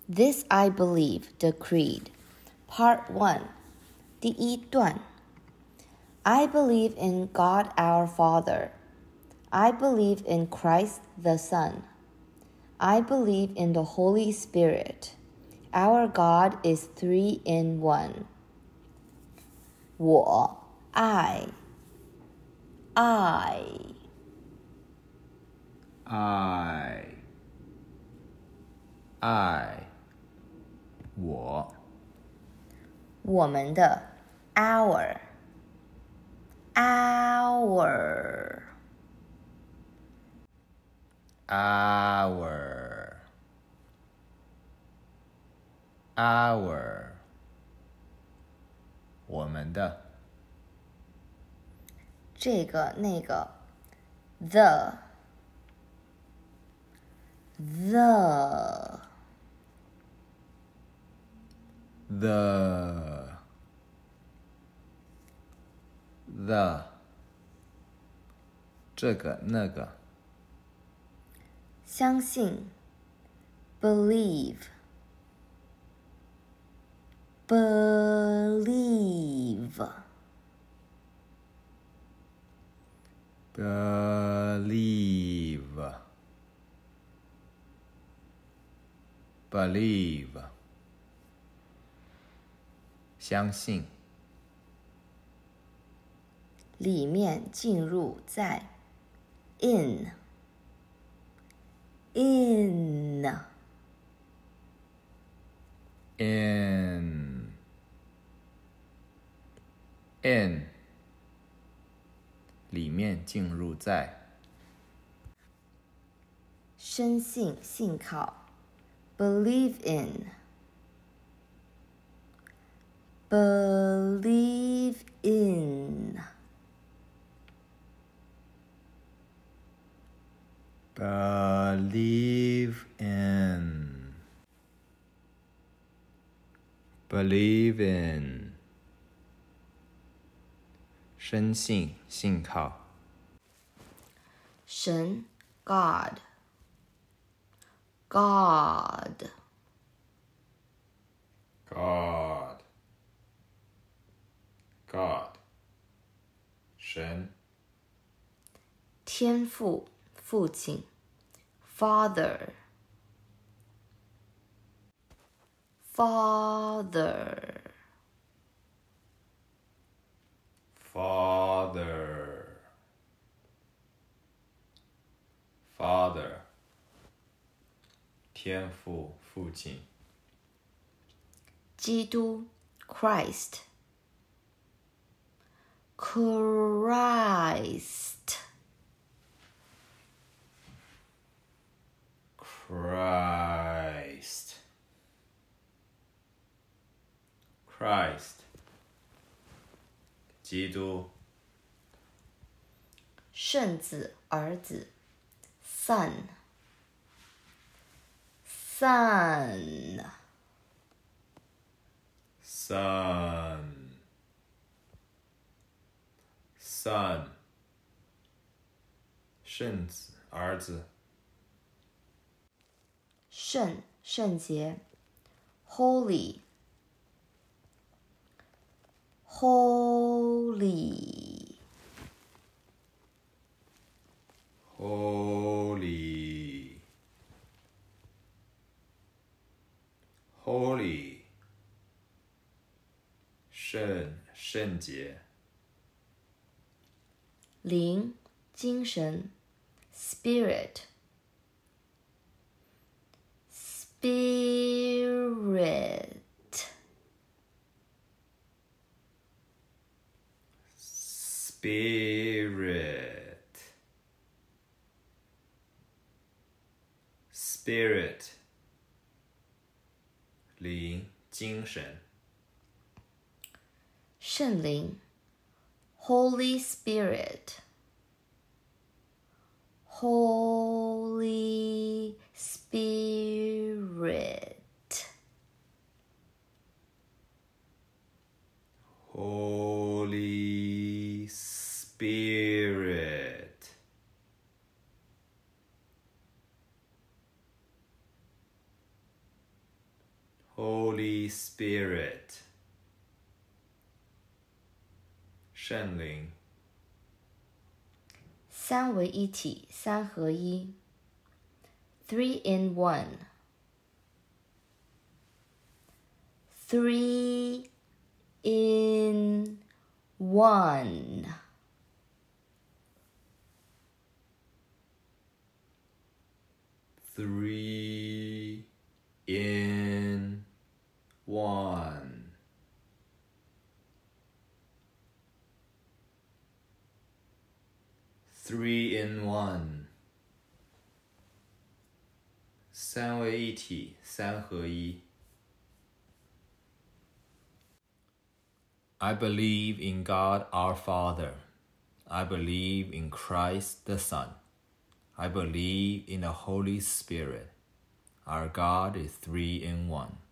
This I believe, the creed. Part 1. 第一段 I believe in God our Father. I believe in Christ the Son. I believe in the Holy Spirit. Our God is 3 in 1. 我爱我我们的 our 我们的这个那个 the 这个那个相信 believe 相信里面进入在 in 里面进入在深信信靠 believe in 深信信靠神 God 神天父父亲 Father 天父父亲基督 Christ 基督圣子儿子 Son 圣子儿子圣洁 Holy 圣洁灵精神 Spirit 灵精神圣灵 Holy Spirit Holy Spirit, 圣灵。 三为一体，三合一。Three in one. Three in one. Three in one. Three in one. 三为一体，三合一。I believe in God our Father. I believe in Christ the Son. I believe in the Holy Spirit. Our God is three in one.